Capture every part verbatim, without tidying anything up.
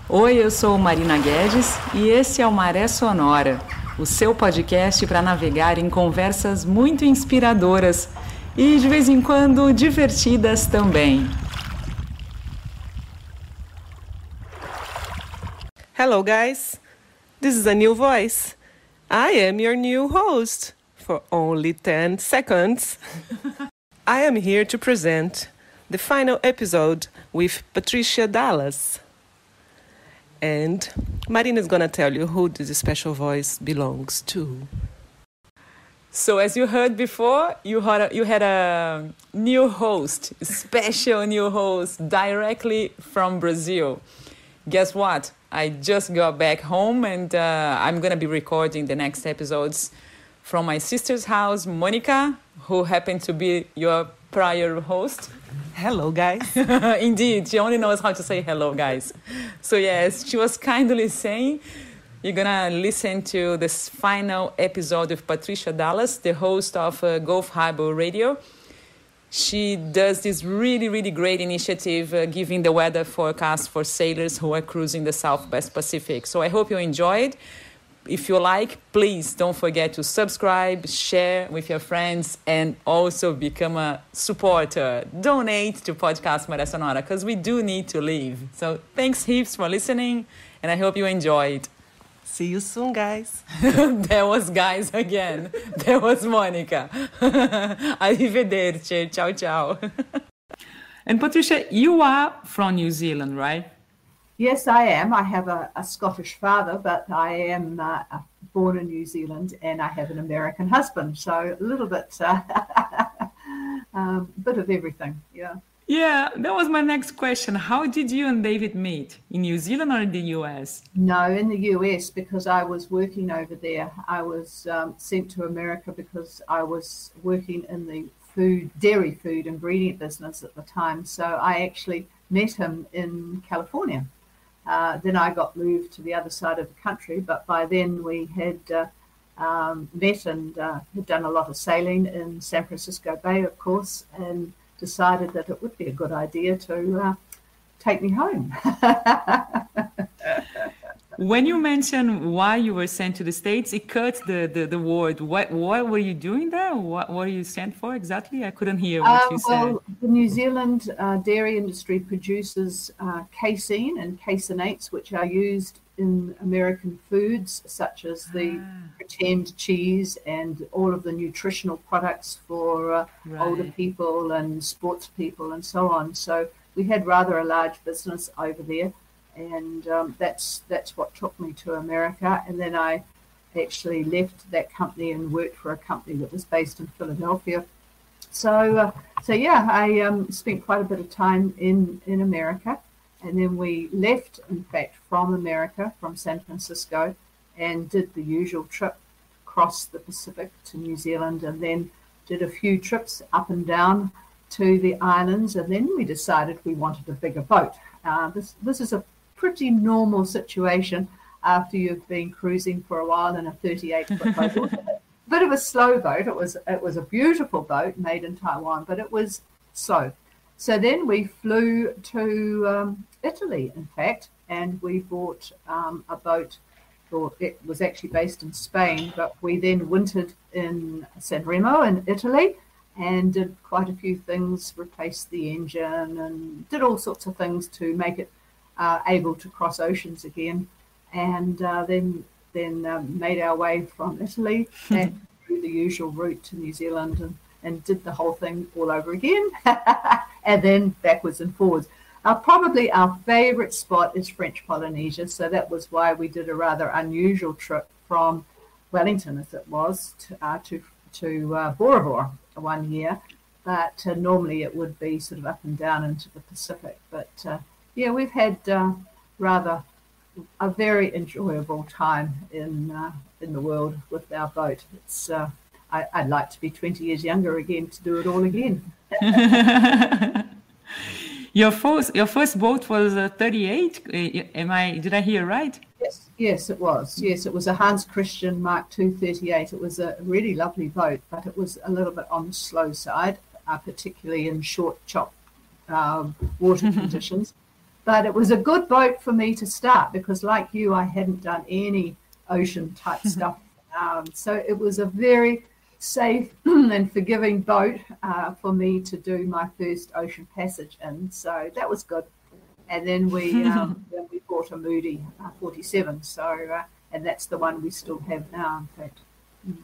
Oi, eu sou Marina Guedes e esse é o Maré Sonora, o seu podcast para navegar em conversas muito inspiradoras e, de vez em quando, divertidas também. Hello, guys. This is a new voice. I am your new host for only ten seconds. I am here to present the final episode with Patricia Dallas. And Marina is going to tell you who this special voice belongs to. So as you heard before, you had a, you had a new host, special new host, directly from Brazil. Guess what? I just got back home and uh, I'm going to be recording the next episodes from my sister's house, Monica, who happened to be your prior host. Hello, guys. Indeed, she only knows how to say hello, guys. So yes, she was kindly saying, you're going to listen to this final episode of Patricia Dallas, the host of uh, Gulf Harbor Radio. She does this really, really great initiative uh, giving the weather forecast for sailors who are cruising the Southwest Pacific. So I hope you enjoyed. If you like, please don't forget to subscribe, share with your friends, and also become a supporter. Donate to Podcast Maré Sonora, because we do need to live. So thanks heaps for listening, and I hope you enjoyed. See you soon, guys. There was guys again. There was Monica. Arrivederci. Ciao, ciao. And Patricia, you are from New Zealand, right? Yes, I am. I have a, a Scottish father, but I am uh, born in New Zealand and I have an American husband. So a little bit, uh, um, bit of everything, yeah. Yeah, that was my next question. How did you and David meet? In New Zealand or in the U S? No, in the U S, because I was working over there. I was um, sent to America because I was working in the food, dairy food ingredient business at the time. So I actually met him in California. Uh, then I got moved to the other side of the country, but by then we had uh, um, met and uh, had done a lot of sailing in San Francisco Bay, of course, and decided that it would be a good idea to uh, take me home. When you mentioned why you were sent to the States, it cut the, the, the word. What what were you doing there? What were you sent for exactly? I couldn't hear what uh, you well, said. The New Zealand uh, dairy industry produces uh, casein and caseinates, which are used in American foods, such as the ah. pretend cheese and all of the nutritional products for uh, right. older people and sports people and so on. So we had rather a large business over there. And um, that's that's what took me to America. And then I actually left that company and worked for a company that was based in Philadelphia. So, uh, so yeah, I um, spent quite a bit of time in, in America. And then we left, in fact, from America, from San Francisco, and did the usual trip across the Pacific to New Zealand, and then did a few trips up and down to the islands. And then we decided we wanted a bigger boat. Uh, this this is a pretty normal situation after you've been cruising for a while in a thirty-eight foot boat. It was a bit of a slow boat. It was it was a beautiful boat made in Taiwan, but it was slow. So then we flew to um, Italy, in fact, and we bought um, a boat. Or it was actually based in Spain, but we then wintered in San Remo in Italy and did quite a few things, replaced the engine and did all sorts of things to make it Uh, able to cross oceans again, and uh, then then um, made our way from Italy and through the usual route to New Zealand, and, and did the whole thing all over again, and then backwards and forwards. Uh, probably our favorite spot is French Polynesia, so that was why we did a rather unusual trip from Wellington, as it was, to uh, to, to uh, Bora Bora one year, but uh, normally it would be sort of up and down into the Pacific, but uh, yeah, we've had uh, rather a very enjoyable time in uh, in the world with our boat. It's uh, I, I'd like to be twenty years younger again to do it all again. Your first your first boat was uh, thirty-eight. Am I? Did I hear right? Yes, yes, it was. Yes, it was a Hans Christian Mark two thirty-eight. It was a really lovely boat, but it was a little bit on the slow side, uh, particularly in short chop uh, water conditions. but it was a good boat for me to start because, like you, I hadn't done any ocean type stuff. Um, so it was a very safe and forgiving boat uh, for me to do my first ocean passage in. So that was good. And then we um, then we bought a Moody uh, forty-seven. So uh, and that's the one we still have now, in fact. Mm.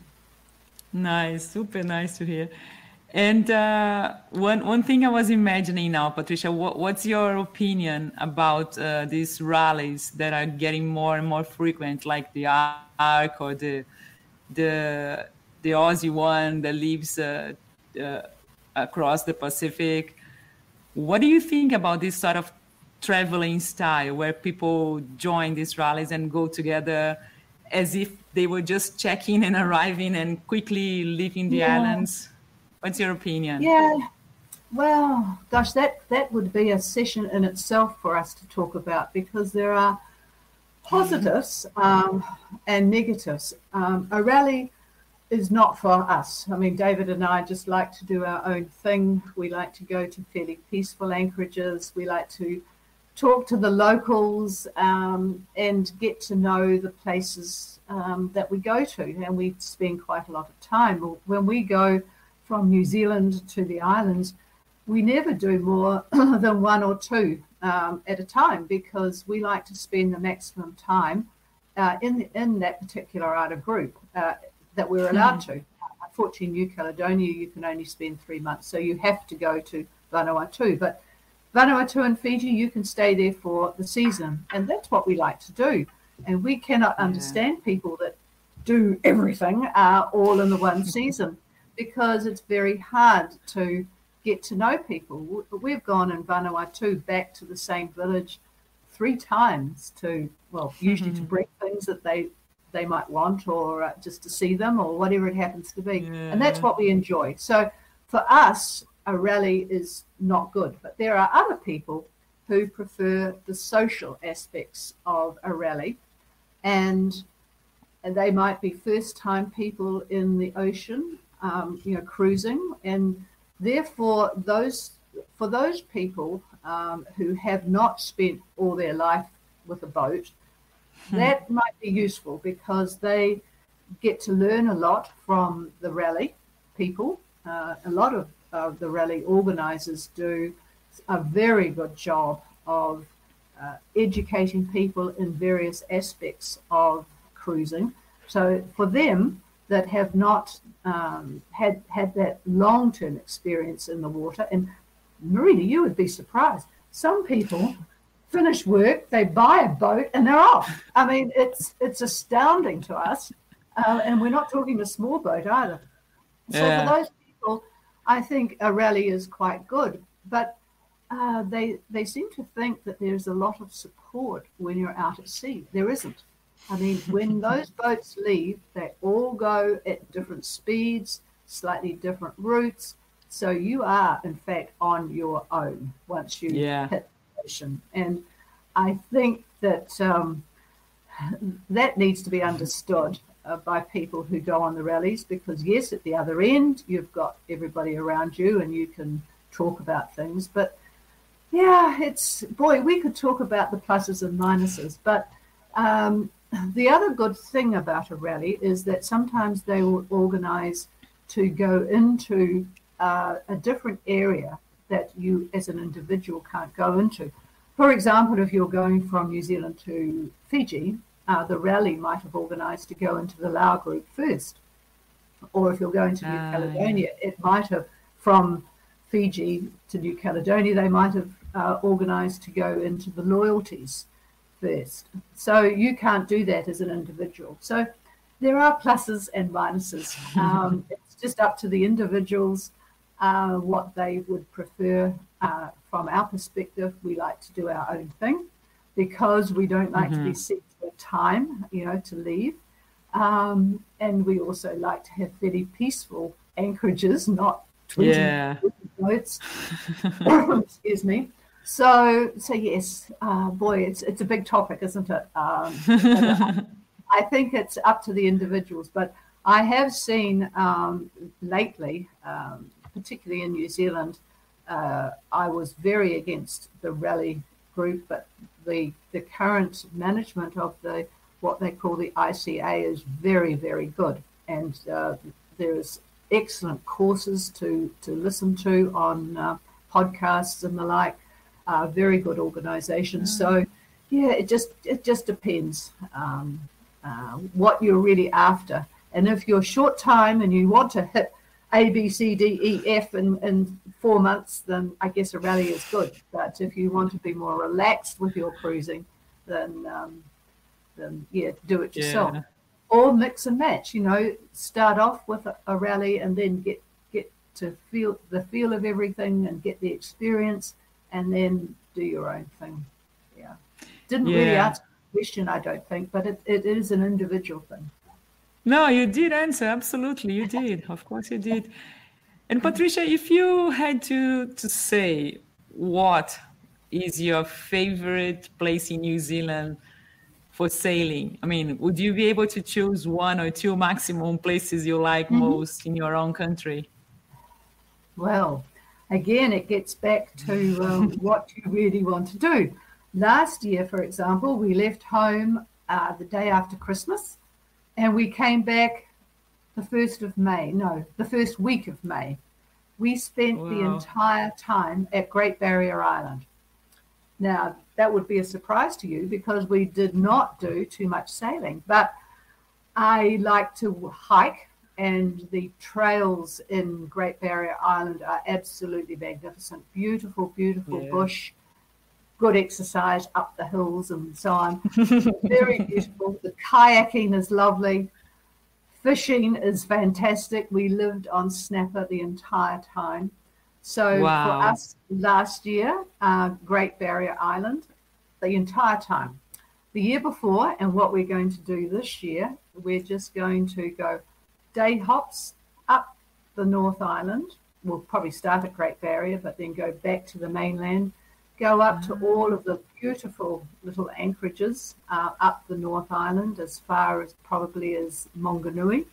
Nice, super nice to hear. And uh, one one thing I was imagining now, Patricia, what, what's your opinion about uh, these rallies that are getting more and more frequent, like the Ark or the the the Aussie one that lives uh, uh, across the Pacific? What do you think about this sort of traveling style where people join these rallies and go together as if they were just checking and arriving and quickly leaving the Yeah. islands? What's your opinion? Yeah, well, gosh, that, that would be a session in itself for us to talk about because there are positives um, and negatives. Um, a rally is not for us. I mean, David and I just like to do our own thing. We like to go to fairly peaceful anchorages. We like to talk to the locals um, and get to know the places um, that we go to. And we spend quite a lot of time. When we go from New Zealand to the islands, we never do more than one or two um, at a time because we like to spend the maximum time uh, in in that particular outer group uh, that we're allowed to. Unfortunately, in New Caledonia, you can only spend three months, so you have to go to Vanuatu. But Vanuatu and Fiji, you can stay there for the season, and that's what we like to do. And we cannot understand yeah. people that do everything uh, all in the one season, because it's very hard to get to know people. We've gone in Vanuatu back to the same village three times to, well, usually mm-hmm. to bring things that they they might want or uh, just to see them or whatever it happens to be. Yeah. And that's what we enjoy. So for us, a rally is not good. But there are other people who prefer the social aspects of a rally. And, and they might be first-time people in the ocean, Um, you know, cruising, and therefore those for those people um, who have not spent all their life with a boat, hmm. that might be useful because they get to learn a lot from the rally people. Uh, a lot of uh, the rally organisers do a very good job of uh, educating people in various aspects of cruising. So for them that have not um, had had that long-term experience in the water. And Marina, you would be surprised. Some people finish work, they buy a boat, and they're off. I mean, it's it's astounding to us. Uh, and we're not talking a small boat either. So yeah. for those people, I think a rally is quite good. But uh, they they seem to think that there's a lot of support when you're out at sea. There isn't. I mean, when those boats leave, they all go at different speeds, slightly different routes. So you are, in fact, on your own once you yeah. hit the ocean. And I think that um, that needs to be understood uh, by people who go on the rallies because, yes, at the other end, you've got everybody around you and you can talk about things. But, yeah, it's, boy, we could talk about the pluses and minuses. But um, the other good thing about a rally is that sometimes they will organise to go into uh, a different area that you as an individual can't go into. For example, if you're going from New Zealand to Fiji, uh, the rally might have organised to go into the Lau group first. Or if you're going to New uh, Caledonia, yeah. it might have, from Fiji to New Caledonia, they might have uh, organised to go into the loyalties first. So you can't do that as an individual. So there are pluses and minuses. Um, it's just up to the individuals uh, what they would prefer. Uh, from our perspective, we like to do our own thing because we don't like mm-hmm. to be set to a time, you know, to leave. Um, and we also like to have very peaceful anchorages, not twenty yeah. boats. Excuse me. So, so yes, uh, boy, it's it's a big topic, isn't it? Um, I think it's up to the individuals, but I have seen um, lately, um, particularly in New Zealand, uh, I was very against the rally group, but the the current management of the what they call the I C A is very, very good, and uh, there's excellent courses to to listen to on uh, podcasts and the like. Uh, very good organisation. Mm. So yeah, it just it just depends um, uh, what you're really after, and if you're short time and you want to hit A, B, C, D, E, F in, in four months, then I guess a rally is good. But if you want to be more relaxed with your cruising, then, um, then yeah, do it yourself. Yeah. Or mix and match, you know, start off with a, a rally and then get, get to feel the feel of everything and get the experience and then do your own thing. Yeah. Didn't yeah. really answer the question, I don't think, but it, it is an individual thing. No, you did answer. Absolutely, you did. Of course you did. And Patricia, if you had to, to say what is your favorite place in New Zealand for sailing, I mean, would you be able to choose one or two maximum places you like mm-hmm. most in your own country? Well, again, it gets back to um, what you really want to do. Last year, for example, we left home uh, the day after Christmas. And we came back the first of May, no, the first week of May. We spent wow. the entire time at Great Barrier Island. Now, that would be a surprise to you because we did not do too much sailing, but I like to hike, and the trails in Great Barrier Island are absolutely magnificent. Beautiful, beautiful yeah. bush. Good exercise up the hills and so on. Very beautiful. The kayaking is lovely. Fishing is fantastic. We lived on snapper the entire time. So wow. for us last year, uh, Great Barrier Island, the entire time. The year before, and what we're going to do this year, we're just going to go day hops up the North Island. We'll probably start at Great Barrier, but then go back to the mainland. Go up to all of the beautiful little anchorages uh, up the North Island as far as probably as Monganui.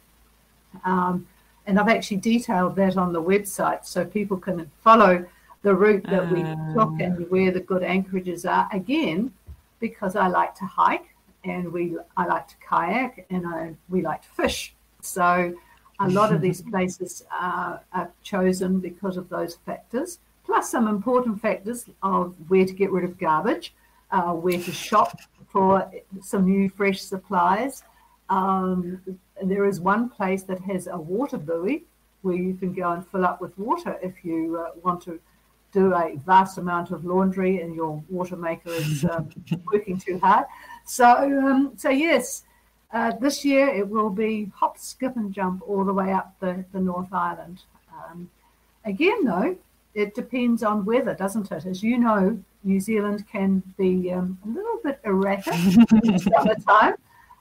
Um, and I've actually detailed that on the website so people can follow the route that uh, we took and where the good anchorages are. Again, because I like to hike and we I like to kayak and I, we like to fish. So a lot of these places are, are chosen because of those factors. Plus some important factors of where to get rid of garbage, uh, where to shop for some new fresh supplies. Um, there is one place that has a water buoy where you can go and fill up with water if you uh, want to do a vast amount of laundry and your water maker is um, working too hard. So, um, so yes, uh, this year it will be hop, skip and jump all the way up the, the North Island. Um, again, though, it depends on weather, doesn't it? As you know, New Zealand can be um, a little bit erratic in the summertime.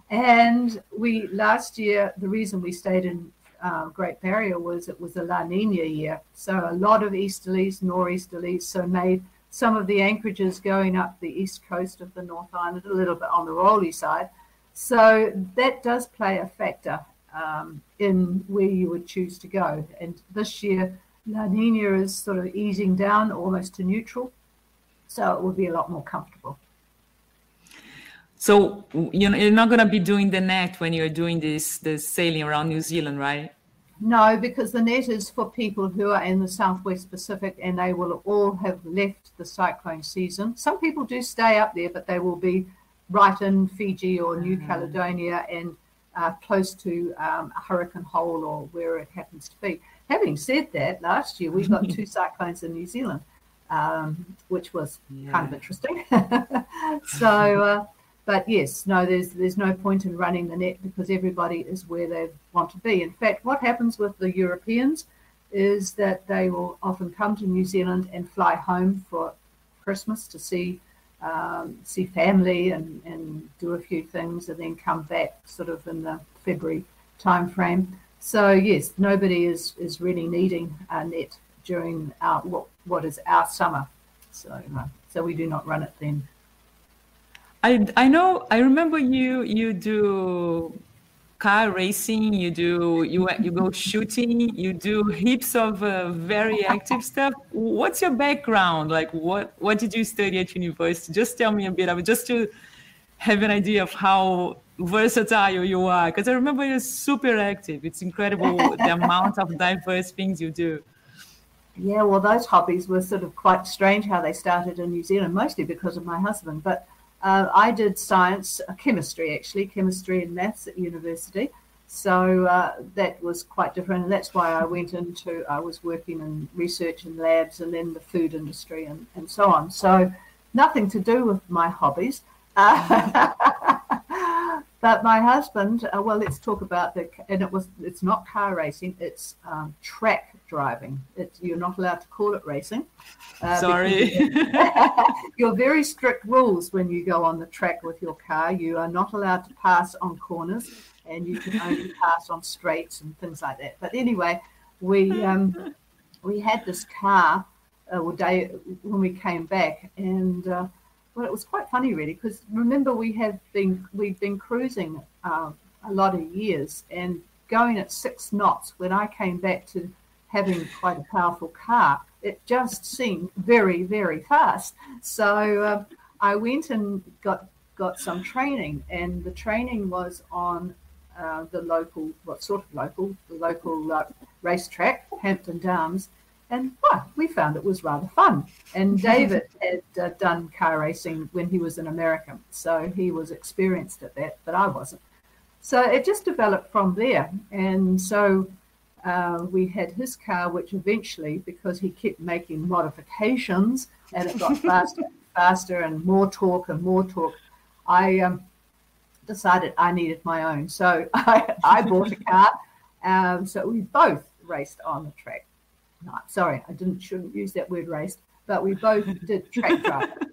And we, last year, the reason we stayed in uh, Great Barrier was it was a La Nina year. So a lot of easterlies, nor'easterlies, so made some of the anchorages going up the east coast of the North Island, a little bit on the rolly side. So that does play a factor um, in where you would choose to go. And this year, La Nina is sort of easing down almost to neutral, so it will be a lot more comfortable. So you know, you're not going to be doing the net when you're doing this, this sailing around New Zealand, right? No, because the net is for people who are in the Southwest Pacific and they will all have left the cyclone season. Some people do stay up there, but they will be right in Fiji or New mm-hmm. Caledonia and uh, close to um, a hurricane hole or where it happens to be. Having said that, last year we got two cyclones in New Zealand, um, which was yeah. kind of interesting. so, uh, but yes, no, there's there's no point in running the net because everybody is where they want to be. In fact, what happens with the Europeans is that they will often come to New Zealand and fly home for Christmas to see um, see family and, and do a few things and then come back sort of in the February time frame. So yes, nobody is, is really needing a net during our what, what is our summer. So uh, so we do not run it then. I I know I remember you you do car racing, you do you you go shooting, you do heaps of uh, very active stuff. What's your background? Like, what what did you study at university? Just tell me a bit of it, just to have an idea of how versatile you are. Because I remember you're super active. It's incredible the amount of diverse things you do. Yeah, well, those hobbies were sort of quite strange how they started in New Zealand, mostly because of my husband. But uh, I did science, uh, chemistry actually, chemistry and maths at university. So uh, that was quite different. And that's why I went into, I was working in research and labs and then the food industry and, and so on. So nothing to do with my hobbies. Uh, but my husband, uh, well, let's talk about the, and it was, it's not car racing, it's um, track driving. It's, you're not allowed to call it racing. Uh, Sorry. You're very strict rules when you go on the track with your car. You are not allowed to pass on corners and you can only pass on straights and things like that. But anyway, we um, we had this car uh, well, day, when we came back, and uh, well, it was quite funny really, because remember we have been, we've been cruising uh, a lot of years and going at six knots. When I came back to having quite a powerful car, it just seemed very, very fast. So uh, I went and got got some training, and the training was on uh, the local, what sort of local, the local uh, racetrack, Hampton Downs, and well, we found it was rather fun. And David had uh, done car racing when he was in America, so he was experienced at that, but I wasn't. So it just developed from there, and so Uh, we had his car, which eventually, because he kept making modifications and it got faster and faster and more torque and more torque, I um, decided I needed my own. So I, I bought a car. Um, so we both raced on the track. No, sorry, I didn't shouldn't use that word raced, but we both did track driving.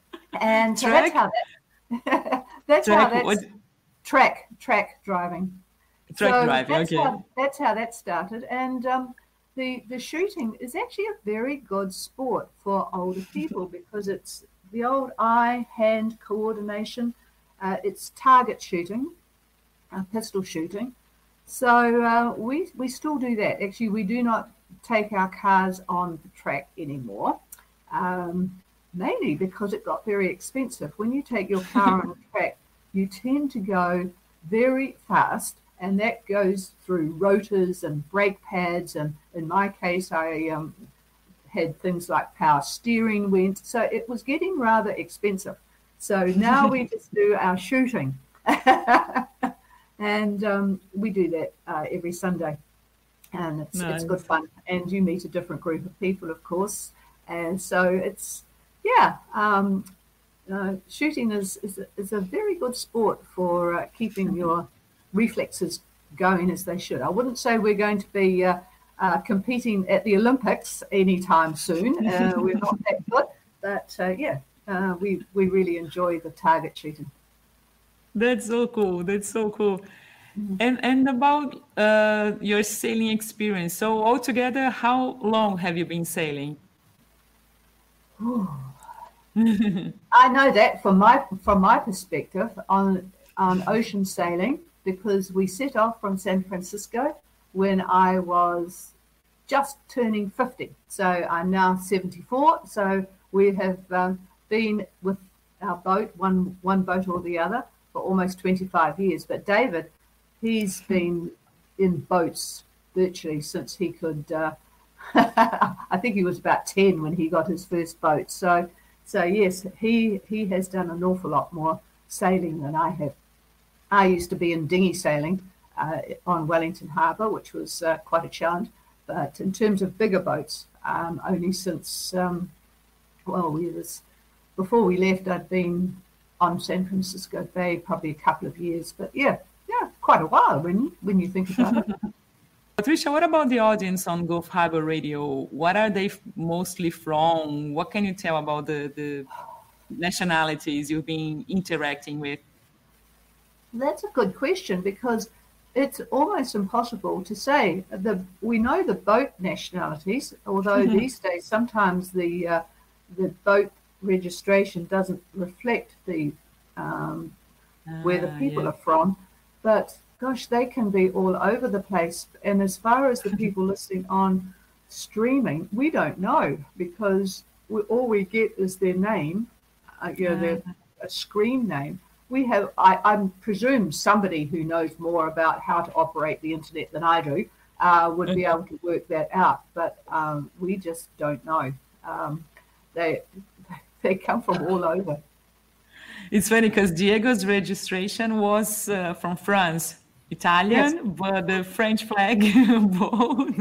And so track? that's how that that's track, how that's what? track track driving. Track so driving, that's okay. How, that's how that started. And um, the, the shooting is actually a very good sport for older people because it's the old eye-hand coordination. Uh, it's target shooting, uh, pistol shooting. So uh, we, we still do that. Actually, we do not take our cars on the track anymore, um, mainly because it got very expensive. When you take your car on the track, you tend to go very fast, and that goes through rotors and brake pads. And in my case, I um, had things like power steering went. So it was getting rather expensive. So now we just do our shooting. and um, we do that uh, every Sunday. And it's, nice. It's good fun. And you meet a different group of people, of course. And so it's, yeah, um, uh, shooting is, is, a, is a very good sport for uh, keeping your reflexes going as they should. I wouldn't say we're going to be uh, uh, competing at the Olympics anytime soon. Uh, we're not that good, but uh, yeah, uh, we we really enjoy the target shooting. That's so cool. That's so cool. Mm-hmm. And and about uh, your sailing experience. So altogether, how long have you been sailing? I know that from my from my perspective on on ocean sailing, because we set off from San Francisco when I was just turning fifty. So I'm now seventy-four. So we have um, been with our boat, one one boat or the other, for almost twenty-five years. But David, he's been in boats virtually since he could, uh, I think he was about ten when he got his first boat. So, so yes, he, he has done an awful lot more sailing than I have. I used to be in dinghy sailing uh, on Wellington Harbour, which was uh, quite a challenge. But in terms of bigger boats, um, only since, um, well, we was, before we left, I'd been on San Francisco Bay probably a couple of years. But yeah, yeah, quite a while when, when you think about it. Patricia, what about the audience on Gulf Harbor Radio? What are they mostly from? What can you tell about the, the nationalities you've been interacting with? That's a good question, because it's almost impossible to say. The we know the boat nationalities, although mm-hmm. these days sometimes the uh, the boat registration doesn't reflect the um, uh, where the people yeah. are from. But gosh, they can be all over the place. And as far as the people listening on streaming, we don't know, because we, all we get is their name, uh, you know, their a screen name. We have, I, I presume somebody who knows more about how to operate the internet than I do uh, would be able to work that out, but um, we just don't know. Um, they they come from all over. It's funny because Diego's registration was uh, from France, Italian, yes. But the French flag bold.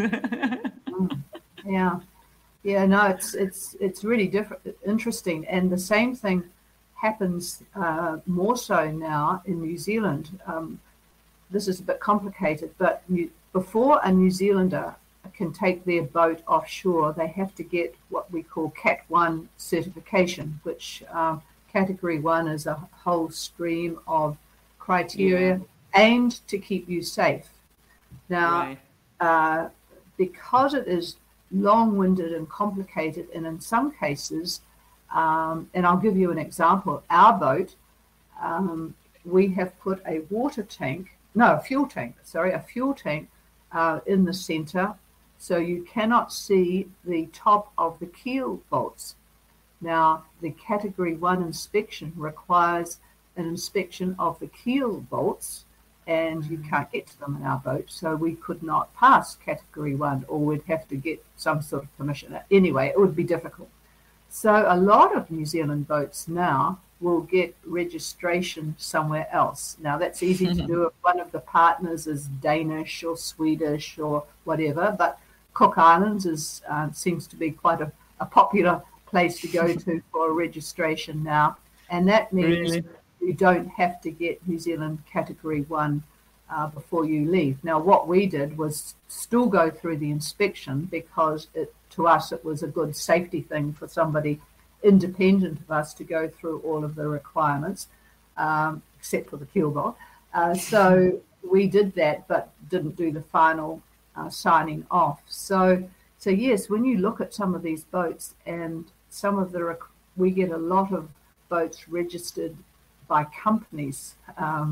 mm, yeah, yeah. No, it's it's it's really different, interesting, and the same thing happens uh, more so now in New Zealand. Um, this is a bit complicated, but New, before a New Zealander can take their boat offshore, they have to get what we call Cat one certification, which um, Category one is a whole stream of criteria yeah. aimed to keep you safe. Now, right. uh, because it is long-winded and complicated, and in some cases, Um, and I'll give you an example. Our boat, um, we have put a water tank, no, a fuel tank, sorry, a fuel tank uh, in the center, so you cannot see the top of the keel bolts. Now, the Category one inspection requires an inspection of the keel bolts, and you can't get to them in our boat, so we could not pass Category one, or we'd have to get some sort of permission. Anyway, it would be difficult. So a lot of New Zealand boats now will get registration somewhere else. Now, that's easy to do if one of the partners is Danish or Swedish or whatever, but Cook Islands is uh, seems to be quite a, a popular place to go to for registration now. And that means really? You don't have to get New Zealand Category one uh, before you leave. Now, what we did was still go through the inspection, because it to us, it was a good safety thing for somebody independent of us to go through all of the requirements, um, except for the keel bolt. Uh, so we did that, but didn't do the final uh, signing off. So, so yes, when you look at some of these boats, and some of the rec- we get a lot of boats registered by companies. Um,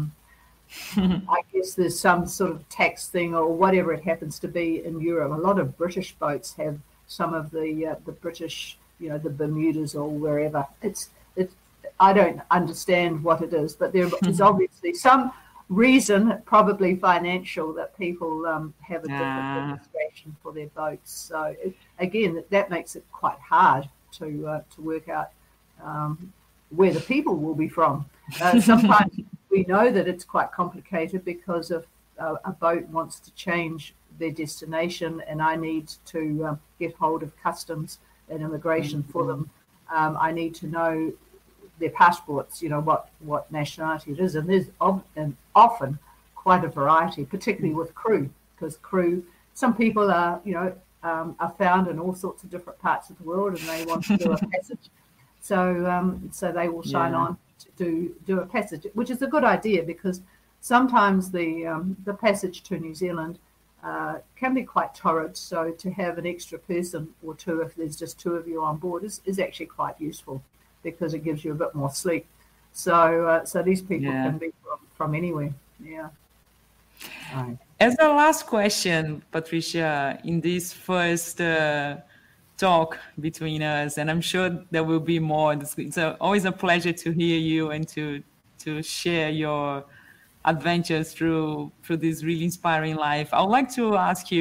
I guess there's some sort of tax thing or whatever it happens to be in Europe. A lot of British boats have some of the uh, the British, you know, the Bermudas or wherever. It's it's. I don't understand what it is, but there is obviously some reason, probably financial, that people um, have a different ah. registration for their boats. So it, again, that, that makes it quite hard to uh, to work out um, where the people will be from. Uh, sometimes we know that it's quite complicated because if uh, a boat wants to change their destination, and I need to um, get hold of customs and immigration mm-hmm. for them. Um, I need to know their passports, you know, what, what nationality it is. And there's of, and often quite a variety, particularly with crew, because crew, some people are, you know, um, are found in all sorts of different parts of the world, and they want to do a passage. So, um, so they will sign yeah. on to do, do a passage, which is a good idea, because sometimes the um, the passage to New Zealand Uh, can be quite torrid, so to have an extra person or two, if there's just two of you on board, is, is actually quite useful, because it gives you a bit more sleep. So uh, so these people yeah. can be from, from anywhere. Yeah. Right. As a last question, Patricia, in this first uh, talk between us, and I'm sure there will be more. It's always a pleasure to hear you and to to share your adventures through through this really inspiring life. I would like to ask you,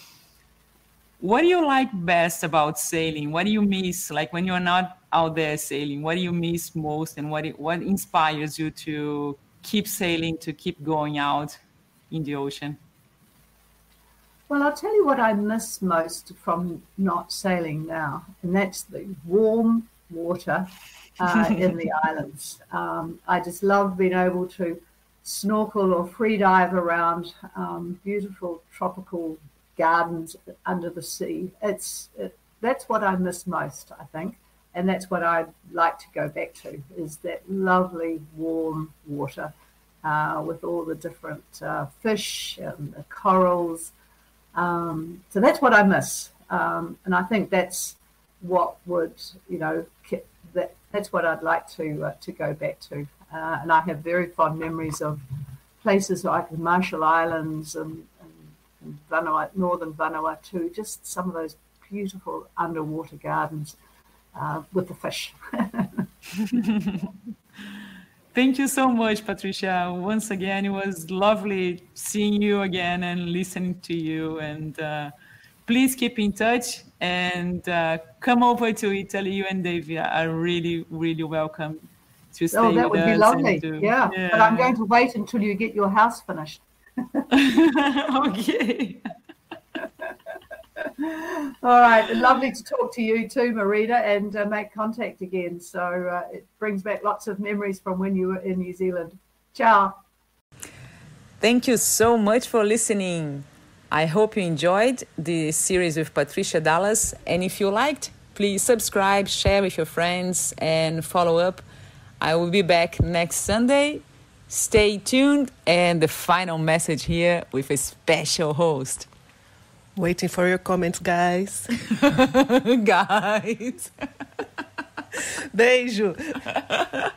what do you like best about sailing? What do you miss, like when you're not out there sailing? What do you miss most, and what what inspires you to keep sailing, to keep going out in the ocean? Well, I'll tell you what I miss most from not sailing now, and that's the warm water uh, in the islands. Um, I just love being able to snorkel or free dive around um, beautiful tropical gardens under the sea. It's it, that's what I miss most, I think, and that's what I'd like to go back to, is that lovely warm water uh, with all the different uh, fish and the corals. Um, so that's what I miss, um, and I think that's what would, you know, that that's what I'd like to uh, to go back to. Uh, and I have very fond memories of places like the Marshall Islands and, and, and Vanuatu, northern Vanuatu, just some of those beautiful underwater gardens uh, with the fish. Thank you so much, Patricia. Once again, it was lovely seeing you again and listening to you. And uh, please keep in touch and uh, come over to Italy. You and Davia are really, really welcome to stay oh, that with would be us. lovely. To, yeah. yeah, but I'm going to wait until you get your house finished. Okay. All right. Lovely to talk to you too, Marita, and uh, make contact again. So uh, it brings back lots of memories from when you were in New Zealand. Ciao. Thank you so much for listening. I hope you enjoyed the series with Patricia Dallas. And if you liked, please subscribe, share with your friends, and follow up. I will be back next Sunday. Stay tuned. And the final message here with a special host. Waiting for your comments, guys. Guys. Beijo.